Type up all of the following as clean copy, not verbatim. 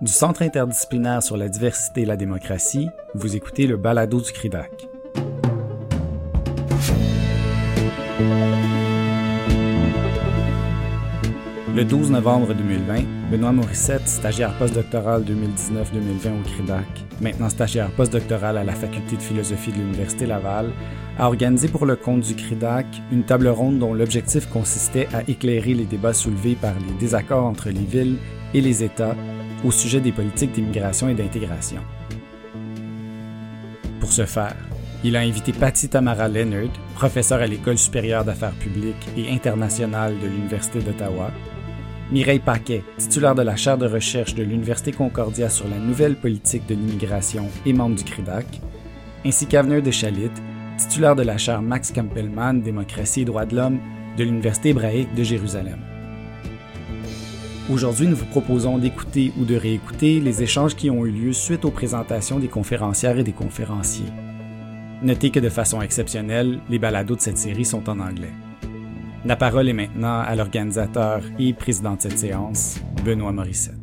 Du Centre interdisciplinaire sur la diversité et la démocratie, vous écoutez le balado du CRIDAC. Le 12 novembre 2020, Benoît Morissette, stagiaire postdoctoral 2019-2020 au CRIDAC, maintenant stagiaire postdoctoral à la Faculté de philosophie de l'Université Laval, a organisé pour le compte du CRIDAC une table ronde dont l'objectif consistait à éclairer les débats soulevés par les désaccords entre les villes et les États au sujet des politiques d'immigration et d'intégration. Pour ce faire, il a invité Patty Tamara Leonard, professeure à l'École supérieure d'affaires publiques et internationales de l'Université d'Ottawa, Mireille Paquet, titulaire de la chaire de recherche de l'Université Concordia sur la nouvelle politique de l'immigration et membre du CRIDAC, ainsi qu'Avner Deschalites, titulaire de la chaire Max Campbellman, démocratie et droits de l'homme de l'Université hébraïque de Jérusalem. Aujourd'hui, nous vous proposons d'écouter ou de réécouter les échanges qui ont eu lieu suite aux présentations des conférencières et des conférenciers. Notez que de façon exceptionnelle, les balados de cette série sont en anglais. La parole est maintenant à l'organisateur et président de cette séance, Benoît Morissette.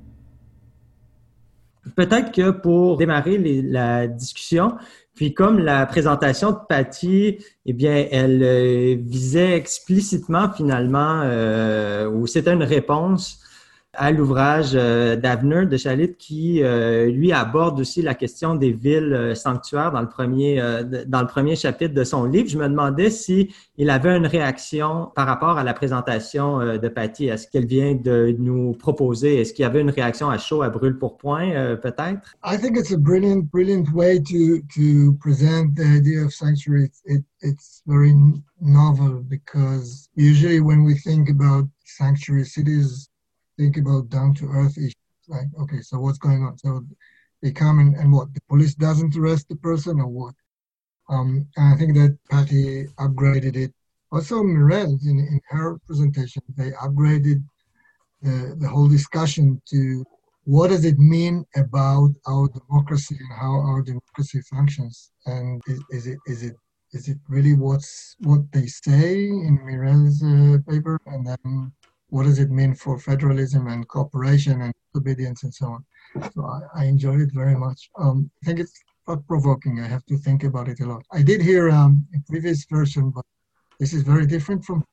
Peut-être que pour démarrer la discussion, puis comme la présentation de Patty, eh bien, elle visait explicitement finalement, ou c'était une réponse à l'ouvrage d'Avner Deschalites qui, lui, aborde aussi la question des villes sanctuaires dans le premier chapitre de son livre. Je me demandais si il avait une réaction par rapport à la présentation de Patty. Est-ce qu'elle vient de nous proposer? Est-ce qu'il y avait une réaction à chaud, à brûle-pourpoint, peut-être? I think it's a brilliant way to present the idea of sanctuary. It's very novel because usually when we think about sanctuary cities, think about down-to-earth issues, like, okay, so what's going on? So they come and what? The police doesn't arrest the person or what? And I think that Patty upgraded it. Also, Mirelle, in her presentation, they upgraded the whole discussion to what does it mean about our democracy and how our democracy functions? And is it really what they say in Mirelle's paper? And then what does it mean for federalism and cooperation and obedience and so on? So I enjoyed it very much. I think it's thought-provoking. I have to think about it a lot. I did hear a previous version, but this is very different from...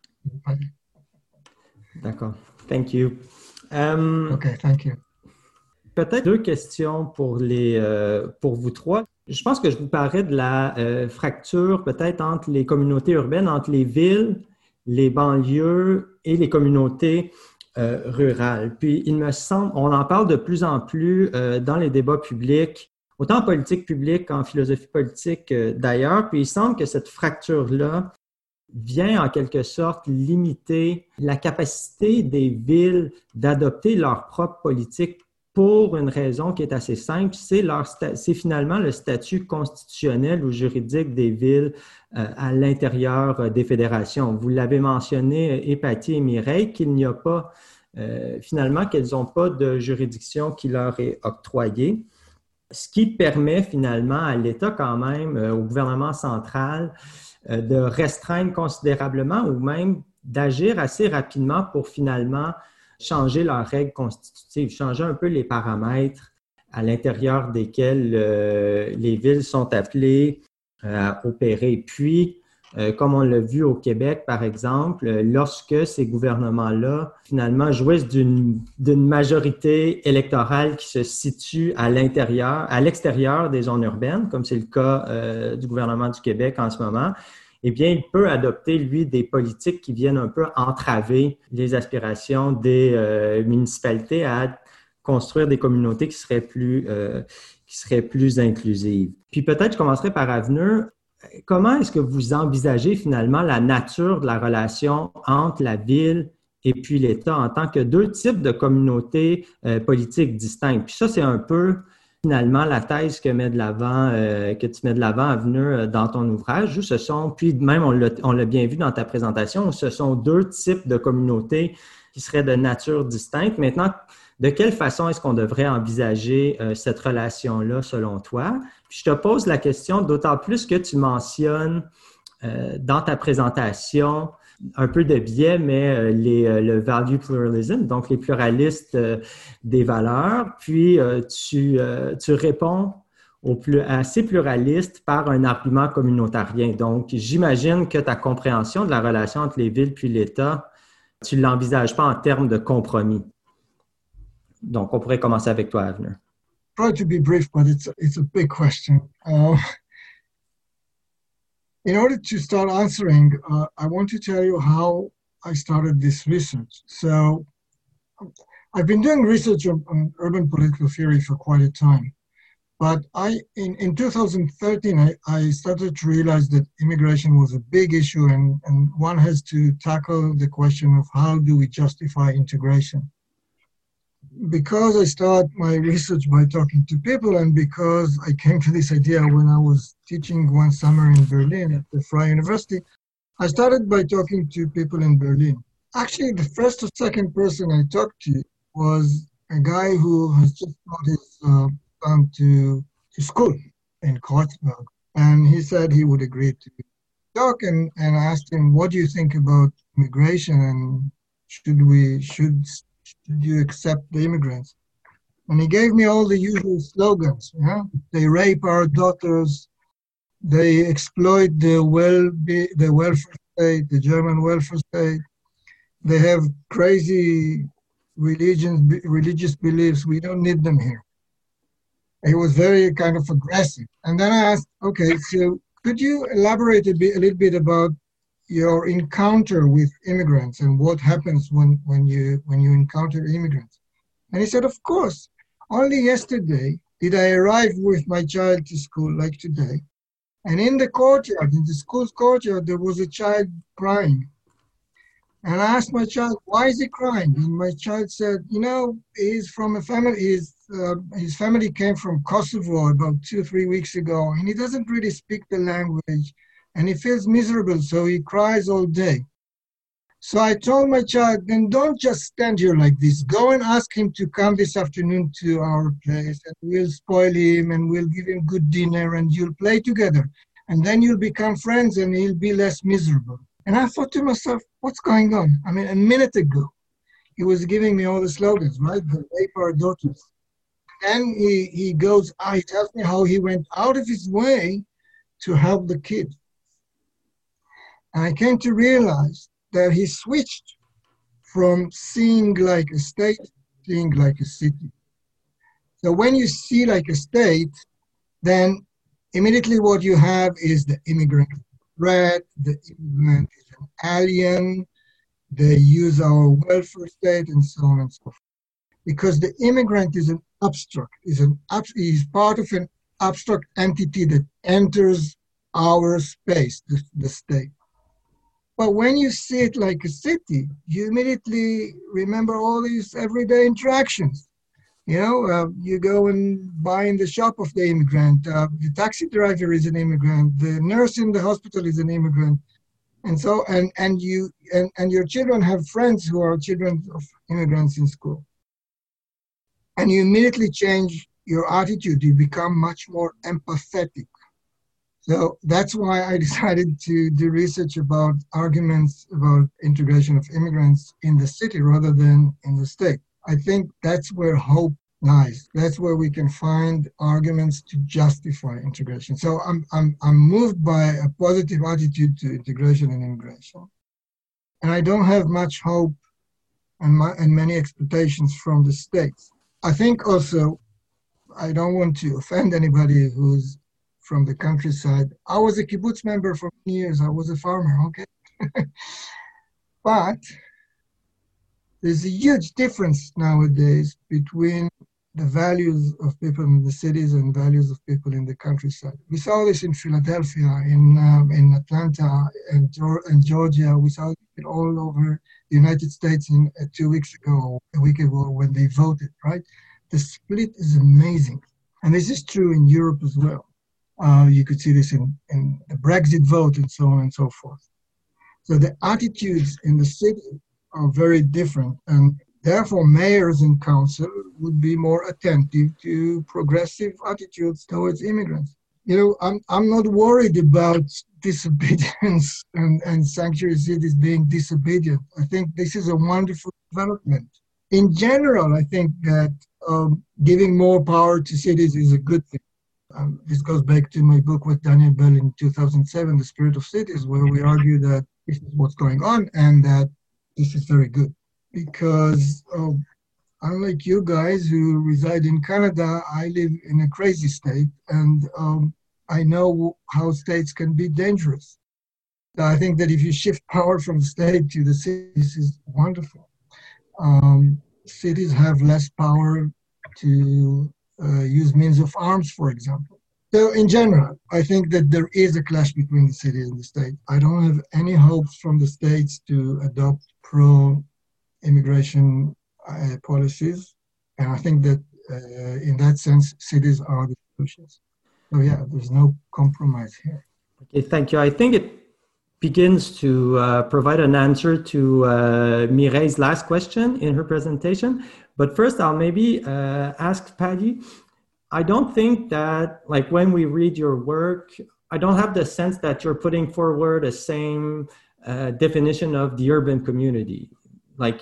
D'accord. Thank you. Okay, thank you. Peut-être deux questions pour vous trois. Je pense que je vous parlerai de la fracture peut-être entre les communautés urbaines, entre les villes, les banlieues et les communautés rurales. Puis, il me semble, on en parle de plus en plus dans les débats publics, autant en politique publique qu'en philosophie politique d'ailleurs. Puis, il semble que cette fracture-là vient en quelque sorte limiter la capacité des villes d'adopter leur propre politique pour une raison qui est assez simple, c'est finalement le statut constitutionnel ou juridique des villes à l'intérieur des fédérations. Vous l'avez mentionné, Patty et Mireille, qu'il n'y a pas, finalement, qu'elles n'ont pas de juridiction qui leur est octroyée, ce qui permet finalement à l'État quand même, au gouvernement central, de restreindre considérablement ou même d'agir assez rapidement pour finalement changer leurs règles constitutives, changer un peu les paramètres à l'intérieur desquels les villes sont appelées à opérer. Puis, comme on l'a vu au Québec, par exemple, lorsque ces gouvernements-là, finalement, jouissent d'une majorité électorale qui se situe à l'extérieur des zones urbaines, comme c'est le cas du gouvernement du Québec en ce moment, eh bien, il peut adopter, lui, des politiques qui viennent un peu entraver les aspirations des municipalités à construire des communautés qui seraient plus inclusives. Puis peut-être je commencerai par Avner. Comment est-ce que vous envisagez finalement la nature de la relation entre la ville et puis l'État en tant que deux types de communautés politiques distinctes? Puis ça, c'est un peu finalement la thèse que tu mets de l'avant, Avner, dans ton ouvrage, puis même on l'a bien vu dans ta présentation, ce sont deux types de communautés qui seraient de nature distincte. Maintenant, de quelle façon est-ce qu'on devrait envisager cette relation-là selon toi? Puis je te pose la question d'autant plus que tu mentionnes dans ta présentation un peu de biais, mais le value pluralism, donc les pluralistes des valeurs, puis tu réponds à ces pluralistes par un argument communautarien. Donc, j'imagine que ta compréhension de la relation entre les villes puis l'État, tu ne l'envisages pas en termes de compromis. Donc, on pourrait commencer avec toi, Avner. Try to be brief, but it's a big question. In order to start answering, I want to tell you how I started this research. So I've been doing research on urban political theory for quite a time. But in 2013, I started to realize that immigration was a big issue, and one has to tackle the question of how do we justify integration. Because I started my research by talking to people, and because I came to this idea when I was teaching one summer in Berlin at the Freie University, I started by talking to people in Berlin. Actually, the first or second person I talked to was a guy who has just brought his son to school in Kreuzberg. And he said he would agree to talk, and I asked him, what do you think about immigration, and should you accept the immigrants? And he gave me all the usual slogans. Yeah? They rape our daughters. They exploit the welfare state, the German welfare state. They have crazy religious beliefs. We don't need them here. He was very kind of aggressive. And then I asked, okay, so could you elaborate a little bit about your encounter with immigrants and what happens when you encounter immigrants? And he said, of course. Only yesterday did I arrive with my child to school, like today. And in the courtyard, in the school's courtyard, there was a child crying. And I asked my child, why is he crying? And my child said, you know, he's from a family, his family came from Kosovo about 2-3 weeks ago, and he doesn't really speak the language, and he feels miserable, so he cries all day. So I told my child, then don't just stand here like this. Go and ask him to come this afternoon to our place, and we'll spoil him, and we'll give him good dinner, and you'll play together. And then you'll become friends, and he'll be less miserable. And I thought to myself, what's going on? I mean, a minute ago, he was giving me all the slogans, right? The rape our daughters. Then he tells me how he went out of his way to help the kid. And I came to realize that he switched from seeing like a state to seeing like a city. So when you see like a state, then immediately what you have is the immigrant threat, the immigrant is an alien, they use our welfare state, and so on and so forth. Because the immigrant is an abstract, is part of an abstract entity that enters our space, the state. But when you see it like a city, you immediately remember all these everyday interactions. You know, you go and buy in the shop of the immigrant. The taxi driver is an immigrant. The nurse in the hospital is an immigrant, and so and your children have friends who are children of immigrants in school, and you immediately change your attitude. You become much more empathetic. So that's why I decided to do research about arguments about integration of immigrants in the city rather than in the state. I think that's where hope lies. That's where we can find arguments to justify integration. So I'm moved by a positive attitude to integration and immigration. And I don't have much hope and many expectations from the states. I think also, I don't want to offend anybody who's from the countryside. I was a kibbutz member for many years. I was a farmer, okay? But there's a huge difference nowadays between the values of people in the cities and values of people in the countryside. We saw this in Philadelphia, in Atlanta, and Georgia. We saw it all over the United States 2 weeks ago, a week ago, when they voted, right? The split is amazing. And this is true in Europe as well. You could see this in the Brexit vote and so on and so forth. So the attitudes in the city are very different, and therefore mayors and council would be more attentive to progressive attitudes towards immigrants. You know, I'm not worried about disobedience and sanctuary cities being disobedient. I think this is a wonderful development. In general, I think that giving more power to cities is a good thing. This goes back to my book with Daniel Bell in 2007, The Spirit of Cities, where we argue that this is what's going on and that this is very good. Because unlike you guys who reside in Canada, I live in a crazy state, and I know how states can be dangerous. So I think that if you shift power from the state to the cities, this is wonderful. Cities have less power to use means of arms, for example. So in general, I think that there is a clash between the city and the state. I don't have any hopes from the states to adopt pro-immigration policies. And I think that in that sense, cities are the solutions. So yeah, there's no compromise here. Okay, thank you. I think it begins to provide an answer to Mireille's last question in her presentation. But first, I'll maybe ask Paddy. I don't think that, like, when we read your work, I don't have the sense that you're putting forward the same definition of the urban community. Like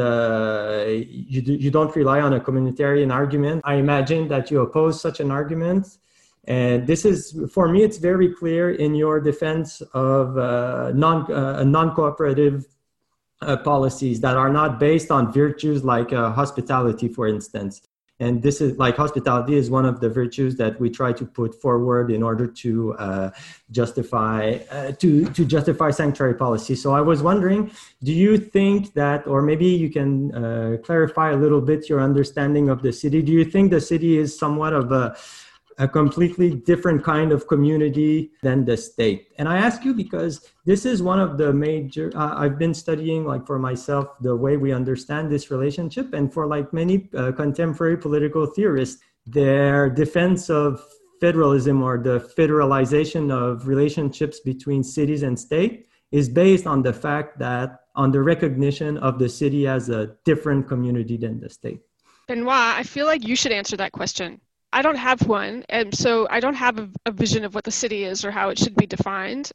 you don't rely on a communitarian argument. I imagine that you oppose such an argument. And this is, for me, it's very clear in your defense of non-cooperative policies that are not based on virtues like hospitality, for instance. And this is, like, hospitality is one of the virtues that we try to put forward in order to justify sanctuary policy. So I was wondering, do you think that, or maybe you can clarify a little bit your understanding of the city? Do you think the city is somewhat of a completely different kind of community than the state? And I ask you because this is one of the major, I've been studying, like, for myself, the way we understand this relationship. And for, like, many contemporary political theorists, their defense of federalism or the federalization of relationships between cities and state is based on the fact that, on the recognition of the city as a different community than the state. Benoit, I feel like you should answer that question. I don't have one, and so I don't have a vision of what the city is or how it should be defined.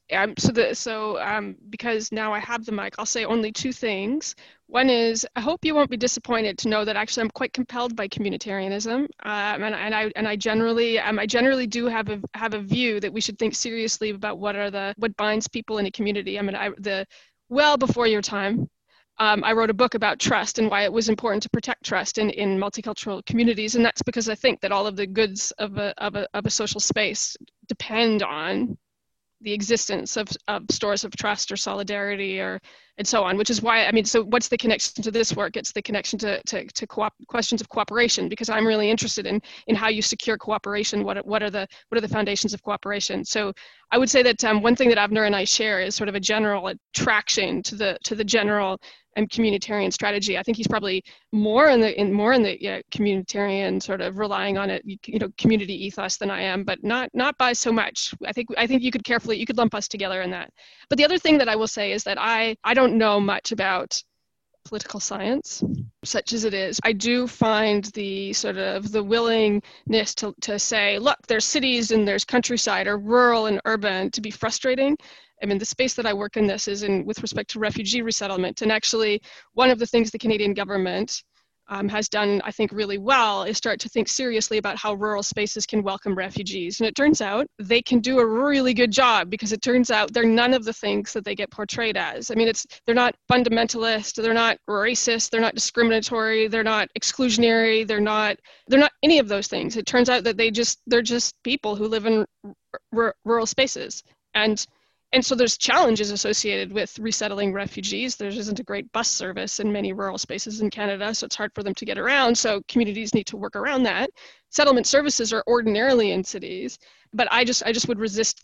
Because now I have the mic, I'll say only two things. One is, I hope you won't be disappointed to know that actually I'm quite compelled by communitarianism, and I generally do have a view that we should think seriously about what binds people in a community. Well before your time, I wrote a book about trust and why it was important to protect trust in multicultural communities, and that's because I think that all of the goods of a social space depend on the existence of stores of trust or solidarity and so on, which is why, so what's the connection to this work? It's the connection to questions of cooperation, because I'm really interested in how you secure cooperation. What are the foundations of cooperation? So I would say that one thing that Avner and I share is sort of a general attraction to the general and communitarian strategy. I think he's probably more in the communitarian, sort of relying on it, community ethos than I am, but not by so much. I think you could lump us together in that. But the other thing that I will say is that I don't know much about political science, such as it is. I do find the willingness to say, look, there's cities and there's countryside, or rural and urban, to be frustrating. The space that I work in this is with respect to refugee resettlement. And actually, one of the things the Canadian government has done, I think, really well is start to think seriously about how rural spaces can welcome refugees. And it turns out they can do a really good job, because it turns out they're none of the things that they get portrayed as. They're not fundamentalist, they're not racist, they're not discriminatory, they're not exclusionary, they're not any of those things. It turns out that they're just people who live in rural spaces. And so there's challenges associated with resettling refugees. There isn't a great bus service in many rural spaces in Canada, so it's hard for them to get around. So communities need to work around that. Settlement services are ordinarily in cities, but I just would resist.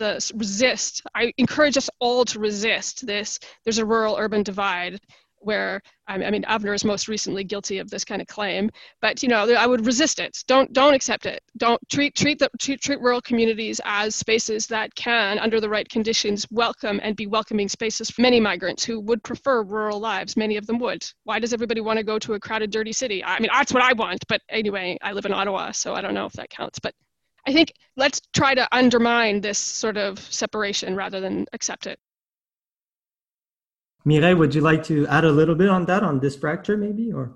I encourage us all to resist this. There's a rural-urban divide, where Avner is most recently guilty of this kind of claim, but I would resist it. Don't accept it. Don't treat rural communities as spaces that can, under the right conditions, welcome and be welcoming spaces for many migrants who would prefer rural lives. Many of them would. Why does everybody want to go to a crowded, dirty city? That's what I want. But anyway, I live in Ottawa, so I don't know if that counts. But I think let's try to undermine this sort of separation rather than accept it. Mireille, would you like to add a little bit on that, on this fracture maybe, or?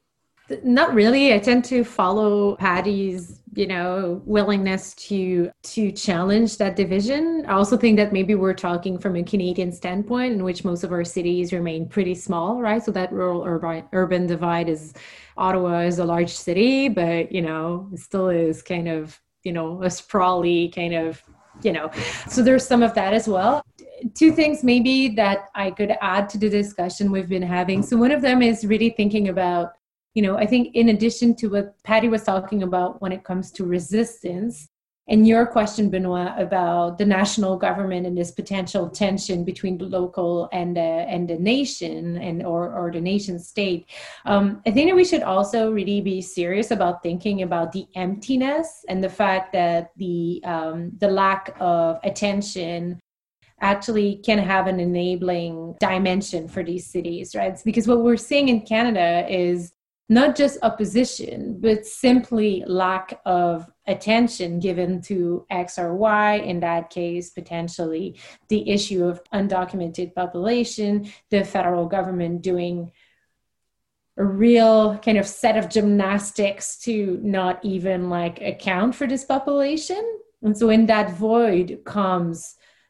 Not really. I tend to follow Patty's, willingness to challenge that division. I also think that maybe we're talking from a Canadian standpoint in which most of our cities remain pretty small, right? So that rural urban divide is, Ottawa is a large city, but, it still is kind of, a sprawly kind of, so there's some of that as well. Two things maybe that I could add to the discussion we've been having. So one of them is really thinking about, I think in addition to what Patty was talking about when it comes to resistance, and your question, Benoit, about the national government and this potential tension between the local and the nation or the nation state, I think that we should also really be serious about thinking about the emptiness and the fact that the lack of attention actually can have an enabling dimension for these cities, right? It's because what we're seeing in Canada is not just opposition, but simply lack of attention given to X or Y, in that case, potentially the issue of undocumented population, the federal government doing a real kind of set of gymnastics to not even account for this population. And so in that void comes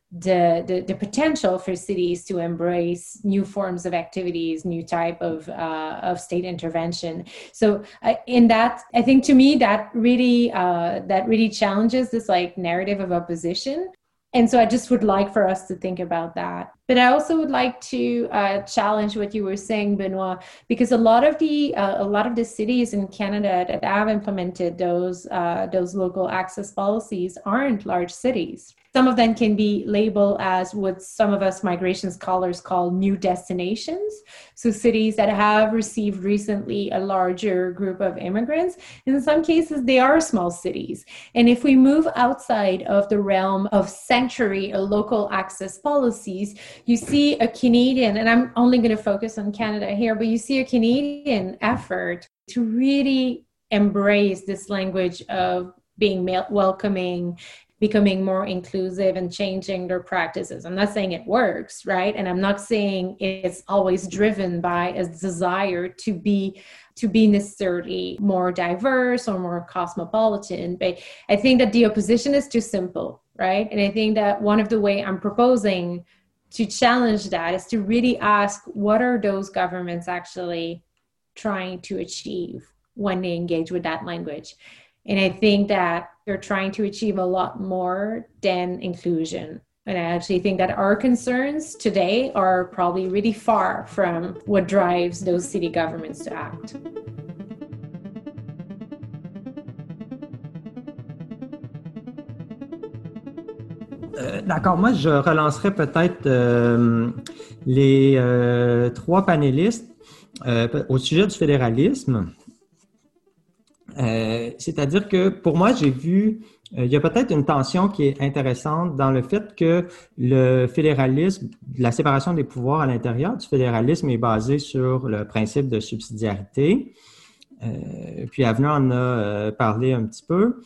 the potential for cities to embrace new forms of activities, new type of state intervention. So in that, I think to me that really challenges this narrative of opposition. And so I just would like for us to think about that. But I also would like to challenge what you were saying, Benoit, because a lot of the cities in Canada that have implemented those local access policies aren't large cities. Some of them can be labeled as what some of us migration scholars call new destinations. So cities that have received recently a larger group of immigrants. In some cases, they are small cities. And if we move outside of the realm of sanctuary or local access policies, you see a Canadian, and I'm only going to focus on Canada here, but you see a Canadian effort to really embrace this language of being welcoming, becoming more inclusive and changing their practices. I'm not saying it works, right? And I'm not saying it's always driven by a desire to be necessarily more diverse or more cosmopolitan, but I think that the opposition is too simple, right? And I think that one of the way I'm proposing to challenge that is to really ask, what are those governments actually trying to achieve when they engage with that language? And I think that they're trying to achieve a lot more than inclusion. And I actually think that our concerns today are probably really far from what drives those city governments to act. D'accord, moi je relancerai peut-être les trois panélistes au sujet du fédéralisme. C'est-à-dire que pour moi, j'ai vu, il y a peut-être une tension qui est intéressante dans le fait que le fédéralisme, la séparation des pouvoirs à l'intérieur du fédéralisme est basée sur le principe de subsidiarité. Puis Avenir en a parlé un petit peu.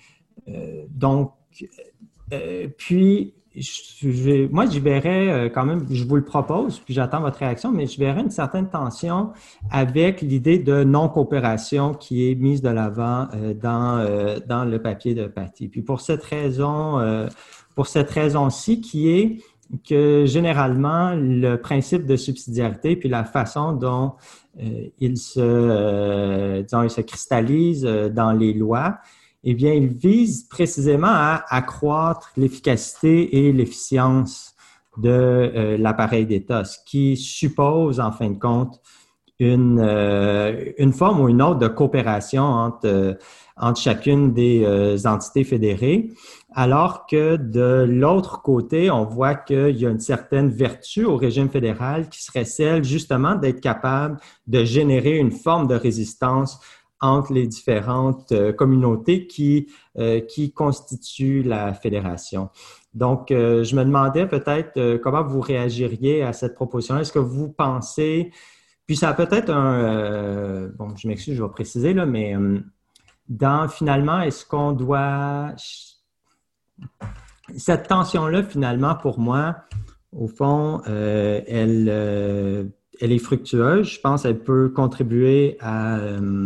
Puis moi, j'y verrais quand même, je vous le propose, puis j'attends votre réaction, mais je verrais une certaine tension avec l'idée de non-coopération qui est mise de l'avant dans le papier de Patty. Puis pour cette raison-ci, qui est que généralement, le principe de subsidiarité puis la façon dont il se cristallise dans les lois, eh bien, il vise précisément à accroître l'efficacité et l'efficience de l'appareil d'État, ce qui suppose, en fin de compte, une forme ou une autre de coopération entre chacune des entités fédérées, alors que de l'autre côté, on voit qu'il y a une certaine vertu au régime fédéral qui serait celle, justement, d'être capable de générer une forme de résistance entre les différentes communautés qui constituent la fédération. Donc, je me demandais peut-être comment vous réagiriez à cette proposition. Est-ce que vous pensez, puis ça a peut-être bon, je m'excuse, je vais préciser, là, mais dans finalement, est-ce qu'on doit... Cette tension-là, finalement, pour moi, au fond, elle est fructueuse. Je pense qu'elle peut contribuer à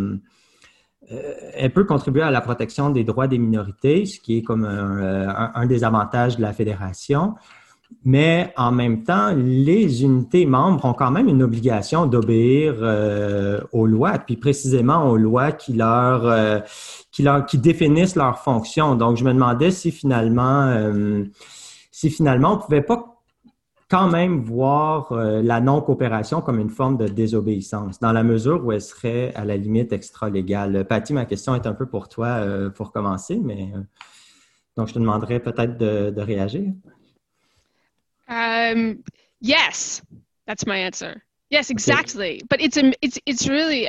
la protection des droits des minorités, ce qui est comme un des avantages de la fédération. Mais en même temps, les unités membres ont quand même une obligation d'obéir aux lois, puis précisément aux lois qui définissent leurs fonctions. Donc, je me demandais si finalement, on pouvait pas quand même voir la non-coopération comme une forme de désobéissance, dans la mesure où elle serait à la limite extra-légale. Patty, ma question est un peu pour toi pour commencer, mais donc je te demanderais peut-être de réagir. Yes, that's my answer. Yes, exactly. Okay. But it's really,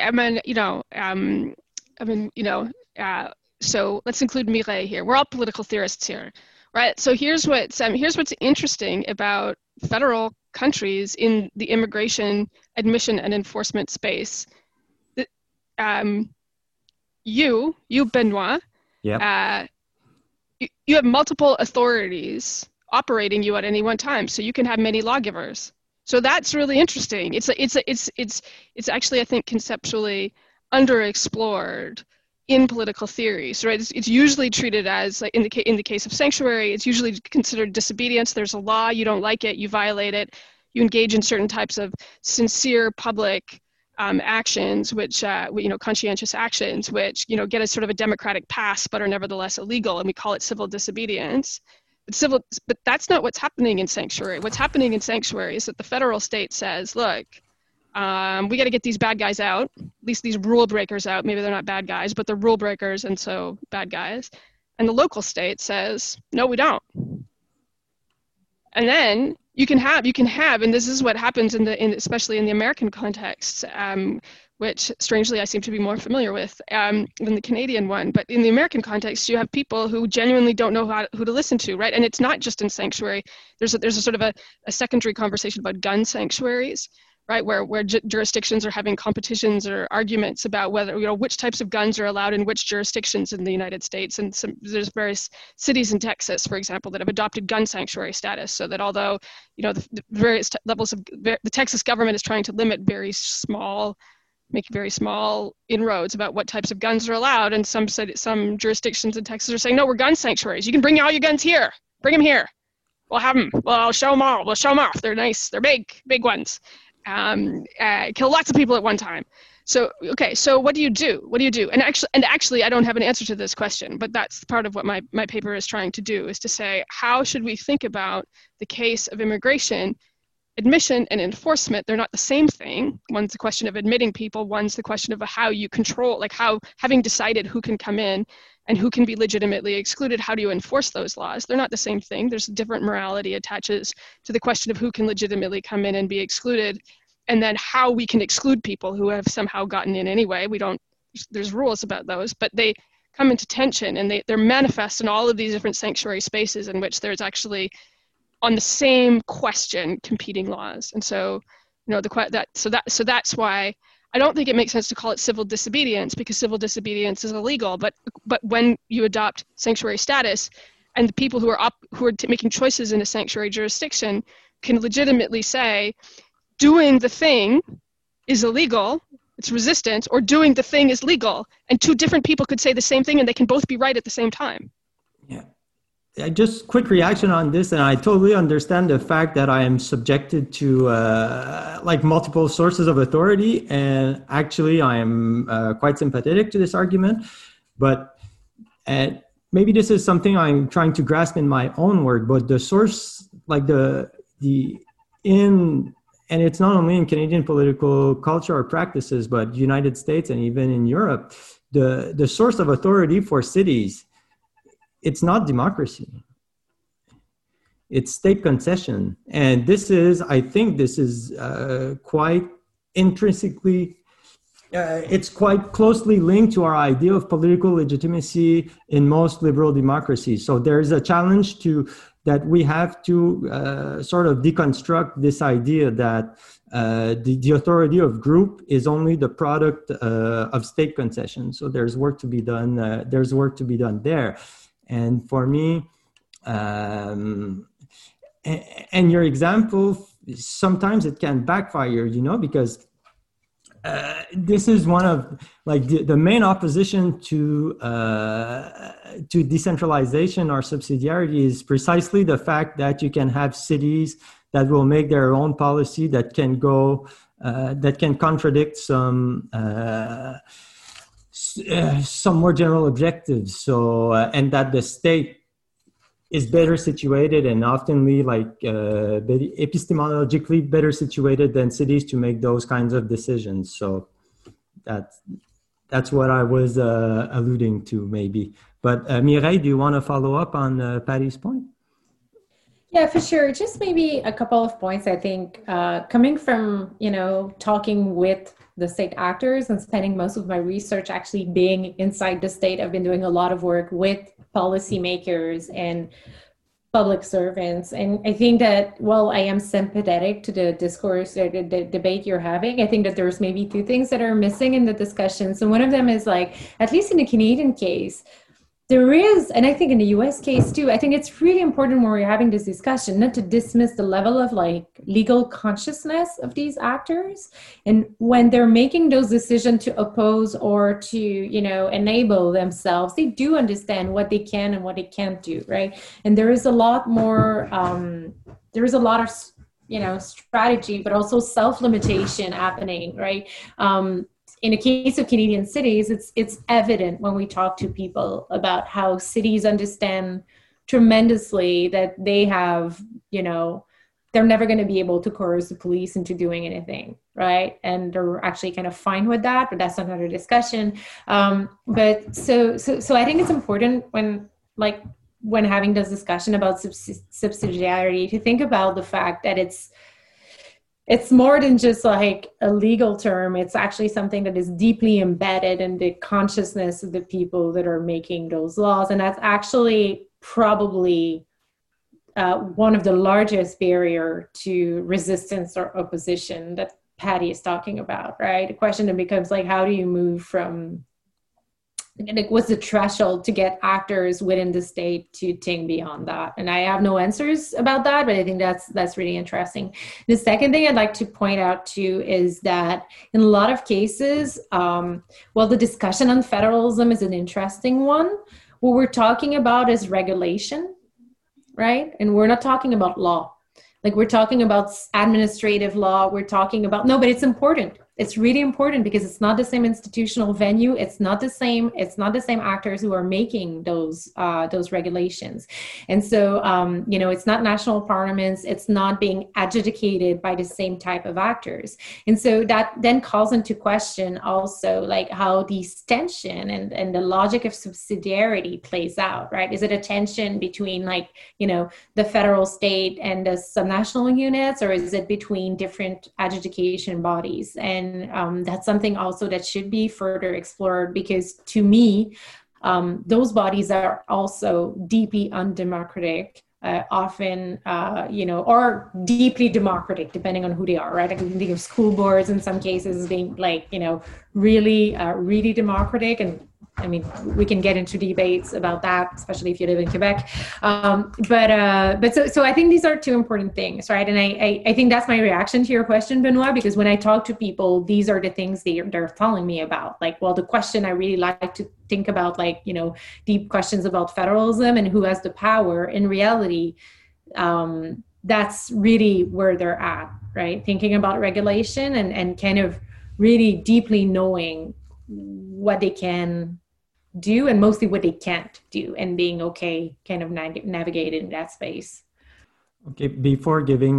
so let's include Mireille here. We're all political theorists here, right? So here's what's interesting about federal countries in the immigration, admission, and enforcement space. You Benoit, yep. You have multiple authorities operating you at any one time, so you can have many lawgivers. So that's really interesting. It's actually, I think, conceptually underexplored in political theories, right? It's usually treated as, like in the case of sanctuary, it's usually considered disobedience. There's a law, you don't like it, you violate it, you engage in certain types of sincere public actions, which conscientious actions, which get a sort of a democratic pass, but are nevertheless illegal, and we call it civil disobedience. But that's not what's happening in sanctuary. What's happening in sanctuary is that the federal state says, look, we got to get these bad guys out, at least these rule breakers out. Maybe they're not bad guys, but they're rule breakers, and so bad guys. And the local state says, no, we don't. And then you can have, and this is what happens especially in the American context, which strangely I seem to be more familiar with than the Canadian one. But in the American context, you have people who genuinely don't know who to listen to, right? And it's not just in sanctuary. There's a sort of a secondary conversation about gun sanctuaries, right? Where jurisdictions are having competitions or arguments about whether, which types of guns are allowed in which jurisdictions in the United States. And there's various cities in Texas, for example, that have adopted gun sanctuary status, so that although, the various levels of the Texas government is trying to limit make very small inroads about what types of guns are allowed, and some jurisdictions in Texas are saying, no, we're gun sanctuaries. You can bring all your guns here. Bring them here. We'll have them. Well, I'll show them all. We'll show them off. They're nice. They're big ones. Kill lots of people at one time. So, okay, so what do you do? And actually, I don't have an answer to this question, but that's part of what my paper is trying to do, is to say, how should we think about the case of immigration? Admission and enforcement, they're not the same thing. One's the question of admitting people, one's the question of how you control, like how, having decided who can come in and who can be legitimately excluded, how do you enforce those laws? They're not the same thing. There's different morality attaches to the question of who can legitimately come in and be excluded, and then how we can exclude people who have somehow gotten in anyway. There's rules about those, but they come into tension, and they're manifest in all of these different sanctuary spaces in which there's actually, on the same question, competing laws. And so, that's why I don't think it makes sense to call it civil disobedience, because civil disobedience is illegal. But when you adopt sanctuary status, and the people who are making choices in a sanctuary jurisdiction can legitimately say, doing the thing is illegal, it's resistance, or doing the thing is legal, and two different people could say the same thing, and they can both be right at the same time. Yeah. Just quick reaction on this, and I totally understand the fact that I am subjected to multiple sources of authority, and actually I am quite sympathetic to this argument, but maybe this is something I'm trying to grasp in my own work, but the source, and it's not only in Canadian political culture or practices, but United States and even in Europe, the source of authority for cities, it's not democracy. It's state concession. And I think this is quite intrinsically, it's quite closely linked to our idea of political legitimacy in most liberal democracies. So there's a challenge that we have to sort of deconstruct this idea that the authority of group is only the product of state concession. So there's work to be done. There's work to be done there. And for me, and your example, sometimes it can backfire, because this is one of the main opposition to decentralization or subsidiarity is precisely the fact that you can have cities that will make their own policy that can contradict some more general objectives. So and that the state is better situated and oftenly epistemologically better situated than cities to make those kinds of decisions. So that's what I was alluding to maybe. But Mireille, do you want to follow up on Patty's point? Yeah, for sure. Just maybe a couple of points, I think, coming from, talking with the state actors and spending most of my research actually being inside the state. I've been doing a lot of work with policymakers and public servants. And I think that while I am sympathetic to the discourse or the debate you're having, I think that there's maybe two things that are missing in the discussion. So one of them is at least in the Canadian case, there is, and I think in the US case too, I think it's really important when we're having this discussion not to dismiss the level of legal consciousness of these actors. And when they're making those decisions to oppose or to, enable themselves, they do understand what they can and what they can't do, right? And there is a lot more, of, strategy, but also self-limitation happening, right? In the case of Canadian cities, it's evident when we talk to people about how cities understand tremendously that they have, they're never going to be able to coerce the police into doing anything, right? And they're actually kind of fine with that, but that's another discussion. But so I think it's important when having this discussion about subsidiarity to think about the fact that it's more than just a legal term. It's actually something that is deeply embedded in the consciousness of the people that are making those laws. And that's actually probably one of the largest barrier to resistance or opposition that Patty is talking about, right? The question then becomes how do you move from, what's the threshold to get actors within the state to think beyond that? And I have no answers about that, but I think that's really interesting. The second thing I'd like to point out too is that in a lot of cases, the discussion on federalism is an interesting one. What we're talking about is regulation, right? And we're not talking about law. We're talking about administrative law. We're talking about, but it's important. It's really important because it's not the same institutional venue. It's not the same actors who are making those regulations. And so, it's not national parliaments. It's not being adjudicated by the same type of actors. And so that then calls into question also how these tension and the logic of subsidiarity plays out, right? Is it a tension between the federal state and the subnational units, or is it between different adjudication bodies? And that's something also that should be further explored, because to me, those bodies are also deeply undemocratic, often, or deeply democratic, depending on who they are, right? I can think of school boards in some cases being really, really democratic. And I mean, we can get into debates about that, especially if you live in Quebec. But so I think these are two important things, right? And I think that's my reaction to your question, Benoit, because when I talk to people, these are the things they're telling me about. The question I really like to think about, deep questions about federalism and who has the power. In reality, that's really where they're at, right? Thinking about regulation and kind of really deeply knowing what they can do and mostly what they can't do, and being okay kind of navigating that space. Okay, before turning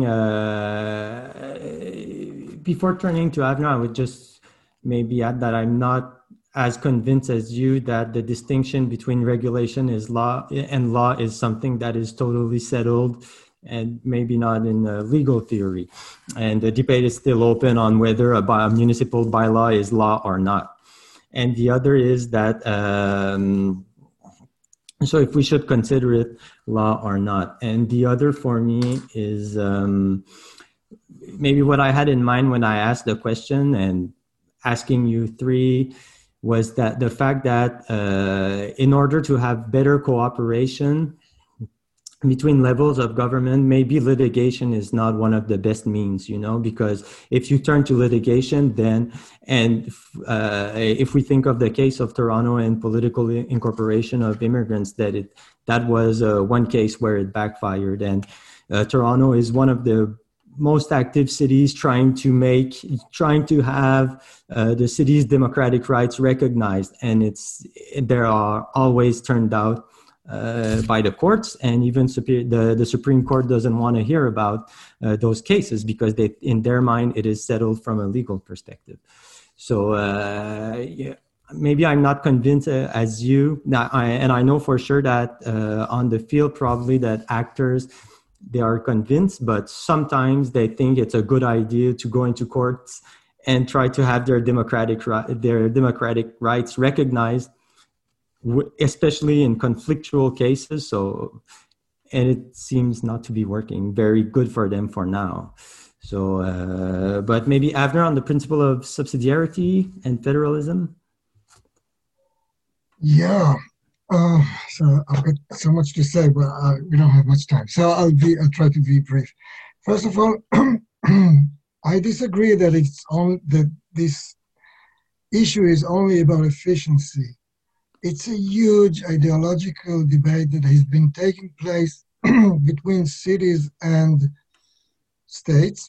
to Avner, I would just maybe add that I'm not as convinced as you that the distinction between regulation is law and law is something that is totally settled, and maybe not in legal theory. And the debate is still open on whether a municipal bylaw is law or not. And the other is that, so if we should consider it law or not. And the other for me is maybe what I had in mind when I asked the question and asking you three was that the fact that in order to have better cooperation between levels of government, maybe litigation is not one of the best means, because if you turn to litigation, then, and if we think of the case of Toronto and political incorporation of immigrants, that was one case where it backfired. And Toronto is one of the most active cities trying to have the city's democratic rights recognized, and they are always turned out by the courts, and even the Supreme Court doesn't want to hear about those cases because in their mind it is settled from a legal perspective. So maybe I'm not convinced as you, and I know for sure that on the field probably that actors, they are convinced, but sometimes they think it's a good idea to go into courts and try to have their democratic rights recognized, especially in conflictual cases. So, and it seems not to be working very good for them for now. So, but maybe Avner on the principle of subsidiarity and federalism. Yeah. So I've got so much to say, but we don't have much time. So I'll try to be brief. First of all, I disagree that this issue is only about efficiency. It's a huge ideological debate that has been taking place between cities and states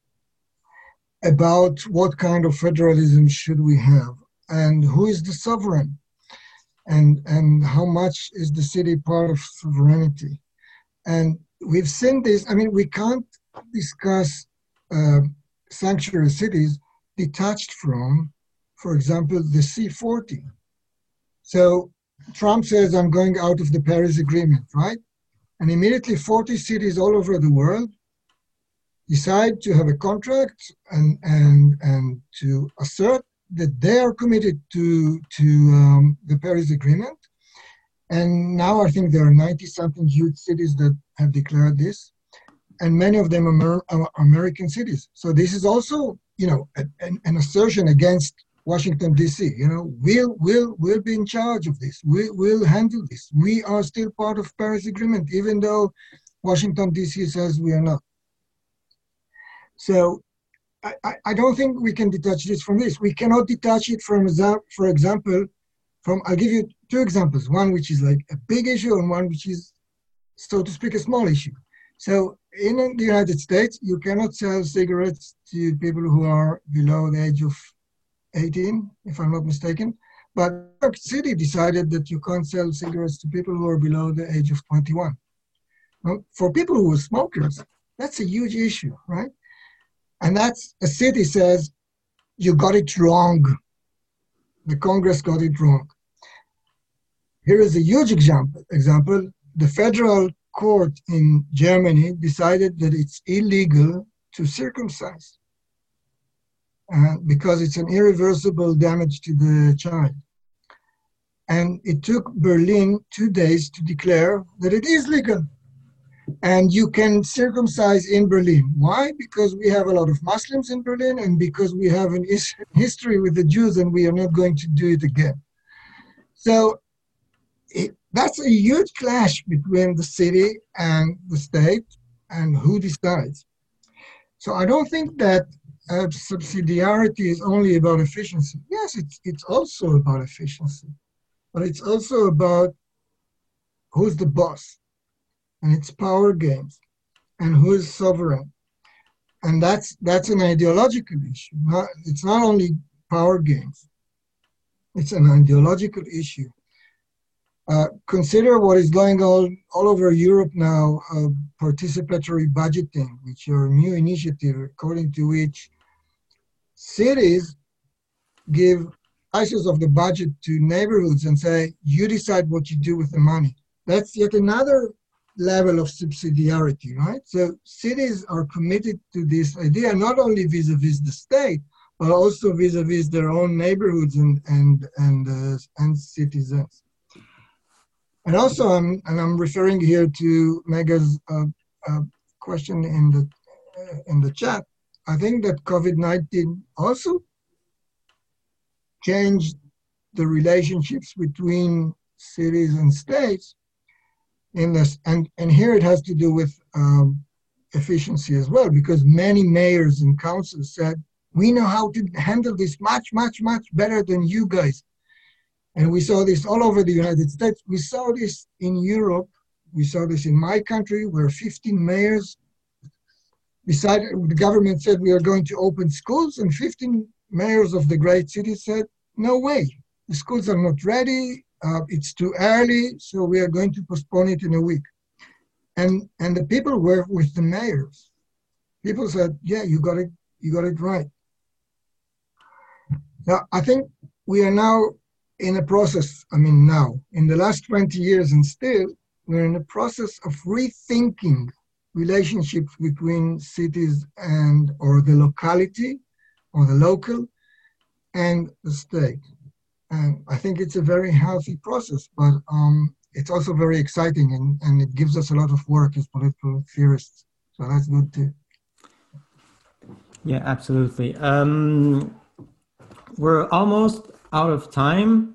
about what kind of federalism should we have and who is the sovereign and how much is the city part of sovereignty. And we've seen this. I mean, we can't discuss sanctuary cities detached from, for example, the C40. So Trump says, I'm going out of the Paris Agreement, right? And immediately 40 cities all over the world decide to have a contract and to assert that they are committed to the Paris Agreement. And now I think there are 90-something huge cities that have declared this, and many of them are American cities. So this is also, an assertion against Washington, D.C. We'll be in charge of this. We'll handle this. We are still part of Paris Agreement, even though Washington, D.C. says we are not. So I don't think we can detach this from this. We cannot detach it from, for example, I'll give you two examples, one which is like a big issue and one which is, so to speak, a small issue. So in the United States, you cannot sell cigarettes to people who are below the age of 18, if I'm not mistaken. But New York City decided that you can't sell cigarettes to people who are below the age of 21. Well, for people who are smokers, that's a huge issue, right? And that's, a city says, you got it wrong. The Congress got it wrong. Here is a huge example. The federal court in Germany decided that it's illegal to circumcise because it's an irreversible damage to the child. And it took Berlin 2 days to declare that it is legal. And you can circumcise in Berlin. Why? Because we have a lot of Muslims in Berlin and because we have an history with the Jews and we are not going to do it again. So that's a huge clash between the city and the state and who decides. So I don't think that subsidiarity is only about efficiency. Yes, it's also about efficiency, but it's also about who's the boss. And it's power games, and who is sovereign, and that's an ideological issue. It's not only power games; it's an ideological issue. Consider what is going on all over Europe now: participatory budgeting, which are a new initiative according to which cities give slices of the budget to neighborhoods and say, "You decide what you do with the money." That's yet another level of subsidiarity, right? So cities are committed to this idea, not only vis-a-vis the state, but also vis-a-vis their own neighborhoods and citizens. And also, I'm referring here to Mega's question in the chat. I think that COVID-19 also changed the relationships between cities and states in this, and here it has to do with efficiency as well, because many mayors and councils said, we know how to handle this much, much, much better than you guys. And we saw this all over the United States. We saw this in Europe. We saw this in my country, where 15 mayors decided, the government said we are going to open schools, and 15 mayors of the great cities said, no way, the schools are not ready, it's too early, so we are going to postpone it in a week. And the people were with the mayors. People said, yeah, you got it right. Now, I think we are now in a process, now, in the last 20 years and still, we're in a process of rethinking relationships between cities or the locality, or the local, and the state. And I think it's a very healthy process, but it's also very exciting, and it gives us a lot of work as political theorists. So that's good too. Yeah, absolutely. We're almost out of time.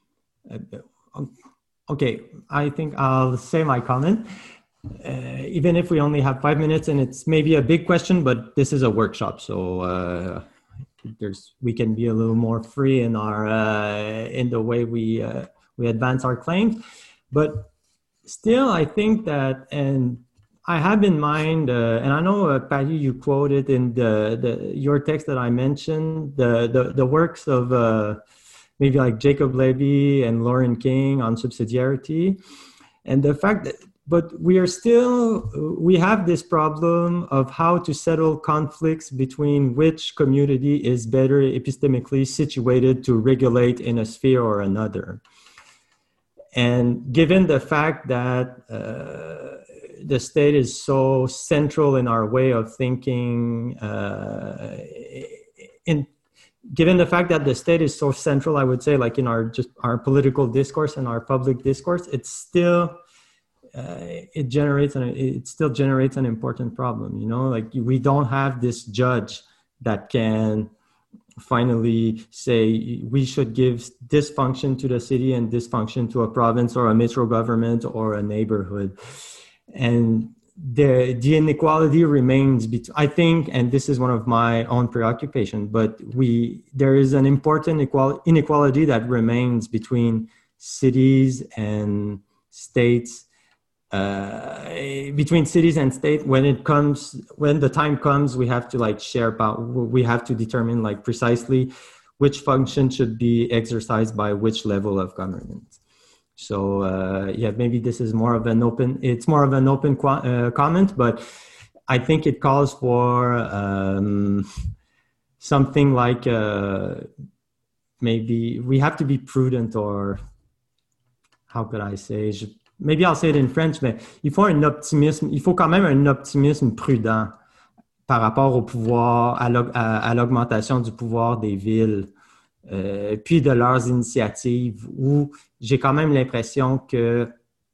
Okay, I think I'll say my comment. Even if we only have 5 minutes, and it's maybe a big question, but this is a workshop, so we can be a little more free in our in the way we advance our claims. But still, I think that, and I have in mind, and I know, Patty, you quoted in your text that I mentioned, the works of maybe like Jacob Levy and Lauren King on subsidiarity, and the fact that, but we have this problem of how to settle conflicts between which community is better epistemically situated to regulate in a sphere or another. And given the fact that the state is so central in our way of thinking, given the fact that the state is so central, I would say, like in our political discourse and our public discourse, it's still it still generates an important problem. Like we don't have this judge that can finally say we should give this function to the city and this function to a province or a metro government or a neighborhood. And the inequality remains I think, and this is one of my own preoccupation, but there is an important inequality that remains between cities and states, when the time comes, we have to we have to determine precisely which function should be exercised by which level of government. So maybe this is more of an open comment, but I think it calls for something like maybe we have to be prudent, or how could I say? Maybe I'll say it in French, mais il faut quand même un optimisme prudent par rapport au pouvoir, à l'augmentation du pouvoir des villes, puis de leurs initiatives, où j'ai quand même l'impression que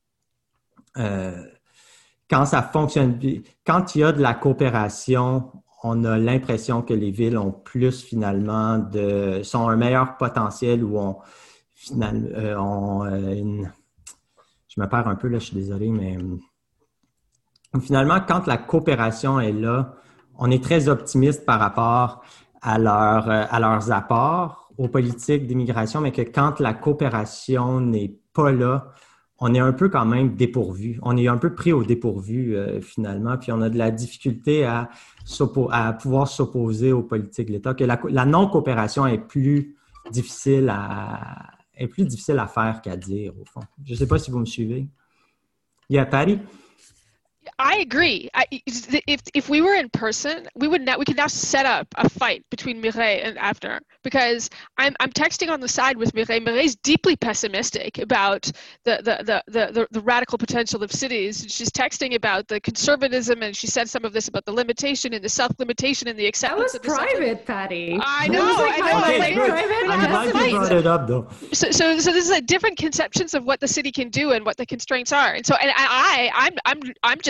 quand ça fonctionne, quand il y a de la coopération, on a l'impression que les villes ont plus finalement sont un meilleur potentiel, où je me perds un peu là, je suis désolé, mais finalement, quand la coopération est là, on est très optimiste par rapport à leurs apports aux politiques d'immigration, mais que quand la coopération n'est pas là, on est un peu quand même dépourvu. On est un peu pris au dépourvu finalement, puis on a de la difficulté à pouvoir s'opposer aux politiques de l'État, que la non-coopération est plus difficile à faire qu'à dire, au fond. Je ne sais pas si vous me suivez. Yeah, Patty? I agree. If we were in person, we could now set up a fight between Mireille and Avner, because I'm texting on the side with Mireille. Mireille's deeply pessimistic about the radical potential of cities. She's texting about the conservatism, and she said some of this about the limitation and the self-limitation and the acceptance. That was private, Patty. I know. Okay, good. I'm glad you brought it up, though. So this is different conceptions of what the city can do and what the constraints are. And so, and I'm just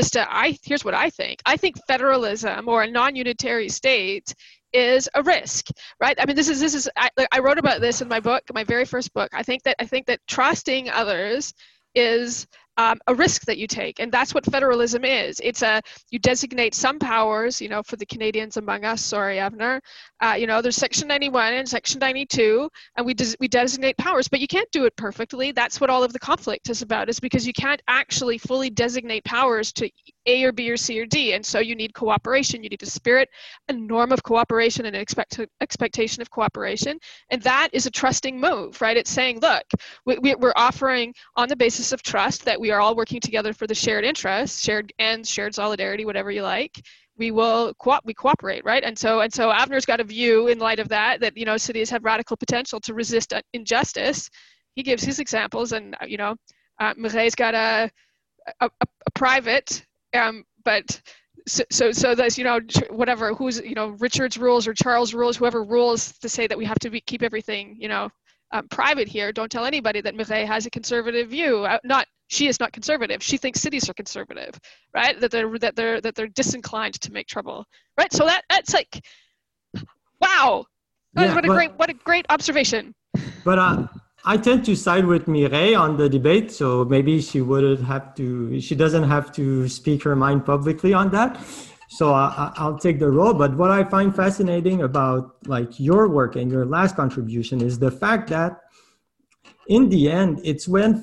here's what I think. I think federalism or a non-unitary state is a risk, right? I mean, I wrote about this in my book, my very first book. I think that trusting others is a risk that you take, and that's what federalism is. You designate some powers, for the Canadians among us. Sorry, Avner. There's Section 91 and Section 92, and we designate powers, but you can't do it perfectly. That's what all of the conflict is about, is because you can't actually fully designate powers to A or B or C or D, and so you need cooperation. You need a spirit, a norm of cooperation, and an expectation of cooperation, and that is a trusting move, right? It's saying, look, we're offering on the basis of trust that we are all working together for the shared interests, shared ends, shared solidarity, whatever you like. We cooperate, right? And so Avner's got a view in light of that cities have radical potential to resist injustice. He gives his examples, and Mireille's got a private, but so that's whatever, who's Richard's rules or Charles' rules, whoever rules to say that we have to keep everything private here. Don't tell anybody that Mireille has a conservative view. She is not conservative. She thinks cities are conservative, right? That they're disinclined to make trouble, right? So that's like, wow, what a great observation. But I tend to side with Mireille on the debate, so maybe she doesn't have to speak her mind publicly on that. So I'll take the role. But what I find fascinating about your work and your last contribution is the fact that in the end, it's when,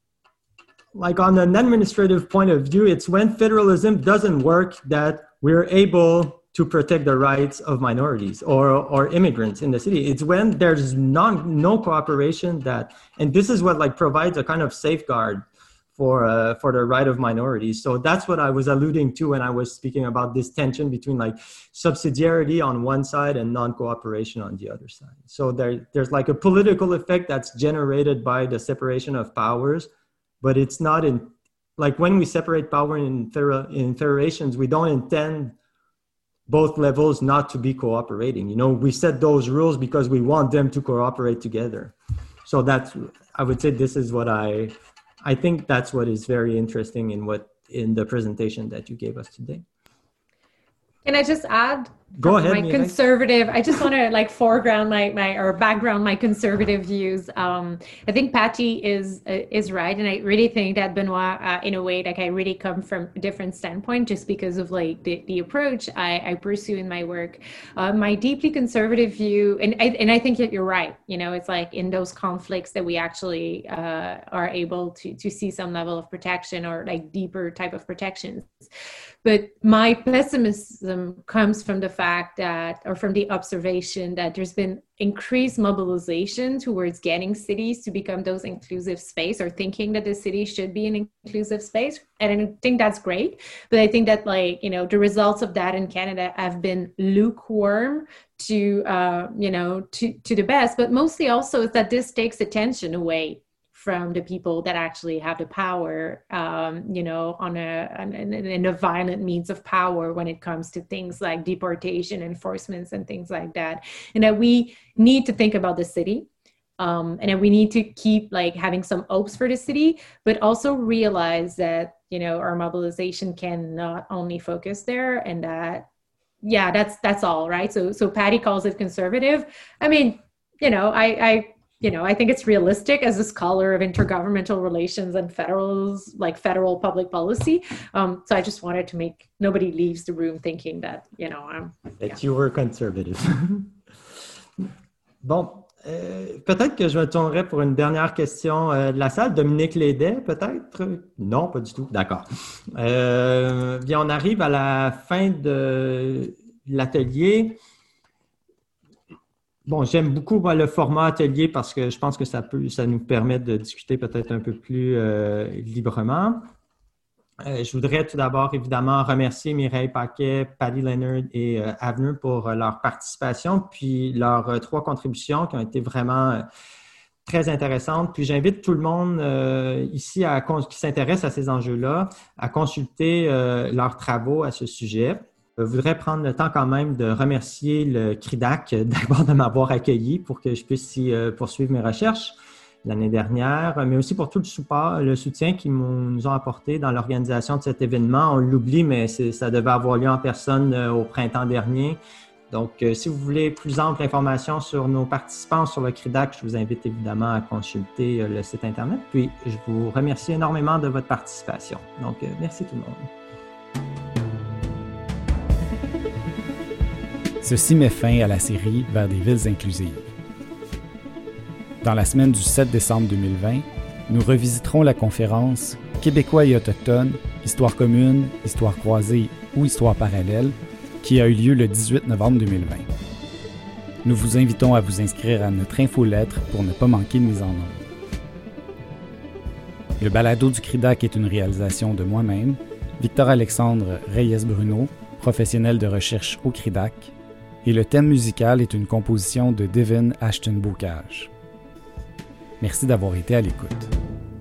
on an administrative point of view, it's when federalism doesn't work that we're able to protect the rights of minorities or immigrants in the city. It's when there's no cooperation and this is what provides a kind of safeguard for the right of minorities. So that's what I was alluding to when I was speaking about this tension between subsidiarity on one side and non-cooperation on the other side. So there's a political effect that's generated by the separation of powers, but it's not when we separate power in federations, we don't intend both levels not to be cooperating. We set those rules because we want them to cooperate together. So I would say this is what I think that's what is very interesting in the presentation that you gave us today. Can I just add? Go ahead. My conservative. I just want to foreground background my conservative views. I think Patty is right, and I really think that Benoit, in a way, I really come from a different standpoint, just because of the approach I pursue in my work. My deeply conservative view, and I think that you're right. It's in those conflicts that we actually are able to see some level of protection or deeper type of protections. But my pessimism comes from the fact that, or from the observation that there's been increased mobilization towards getting cities to become those inclusive space, or thinking that the city should be an inclusive space. And I think that's great. But I think that the results of that in Canada have been lukewarm to the best, but mostly also is that this takes attention away from the people that actually have the power, in a violent means of power when it comes to things like deportation, enforcements, and things like that. And that we need to think about the city, and that we need to keep having some hopes for the city, but also realize that, our mobilization can not only focus there, and that, that's all, right? So Patty calls it conservative. I mean, I think it's realistic as a scholar of intergovernmental relations and federal public policy. So I just wanted to make nobody leaves the room thinking that, you were conservative. Bon, peut-être que je me tournerai pour une dernière question de la salle. Dominique Lédet, peut-être? Non, pas du tout. D'accord. Bien, on arrive à la fin de l'atelier. Bon, j'aime beaucoup le format atelier parce que je pense que ça nous permet de discuter peut-être un peu plus librement. Je voudrais tout d'abord, évidemment, remercier Mireille Paquet, Patty Leonard et Avner pour leur participation, puis leurs 3 contributions qui ont été vraiment très intéressantes. Puis j'invite tout le monde ici qui s'intéresse à ces enjeux-là à consulter leurs travaux à ce sujet. Je voudrais prendre le temps quand même de remercier le CRIDAC d'abord de m'avoir accueilli pour que je puisse y poursuivre mes recherches. l'année dernière, mais aussi pour tout le soutien qu'ils nous ont apporté dans l'organisation de cet événement. On l'oublie, mais ça devait avoir lieu en personne au printemps dernier. Donc, si vous voulez plus ample information sur nos participants sur le CRIDAC, je vous invite évidemment à consulter le site Internet. Puis, je vous remercie énormément de votre participation. Donc, merci tout le monde. Ceci met fin à la série Vers des villes inclusives. Dans la semaine du 7 décembre 2020, nous revisiterons la conférence Québécois et autochtones, histoire commune, histoire croisée ou histoire parallèle, qui a eu lieu le 18 novembre 2020. Nous vous invitons à vous inscrire à notre infolettre pour ne pas manquer de mise en onde. Le balado du CRIDAC est une réalisation de moi-même, Victor-Alexandre Reyes-Bruno, professionnel de recherche au CRIDAC, et le thème musical est une composition de Devin Ashton-Bocage. Merci d'avoir été à l'écoute.